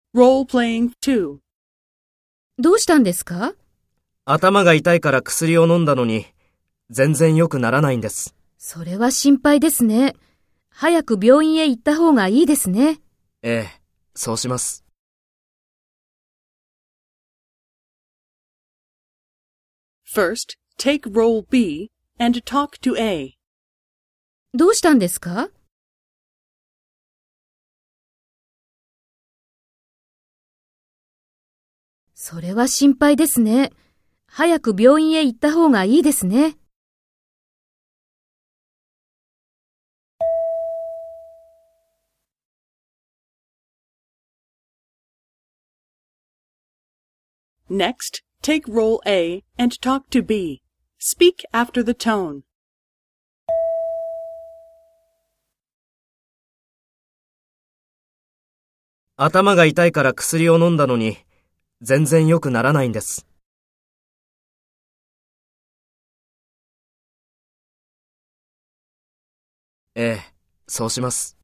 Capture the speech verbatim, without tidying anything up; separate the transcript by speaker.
Speaker 1: Role-playing two.
Speaker 2: どうしたんですか？
Speaker 3: 頭が痛いから薬を飲んだのに、全然良くならないんです。
Speaker 2: それは心配ですね。早く病院へ行った方がいいですね。
Speaker 3: ええ、そうします。
Speaker 1: First, take role B and talk to A.
Speaker 2: どうしたんですか？それは心配ですね。早く病院へ行った方がいいですね。
Speaker 1: Next, take role A and talk to B. Speak after the tone.
Speaker 3: 頭が痛いから薬を飲んだのに、全然良くならないんです。ええ、そうします。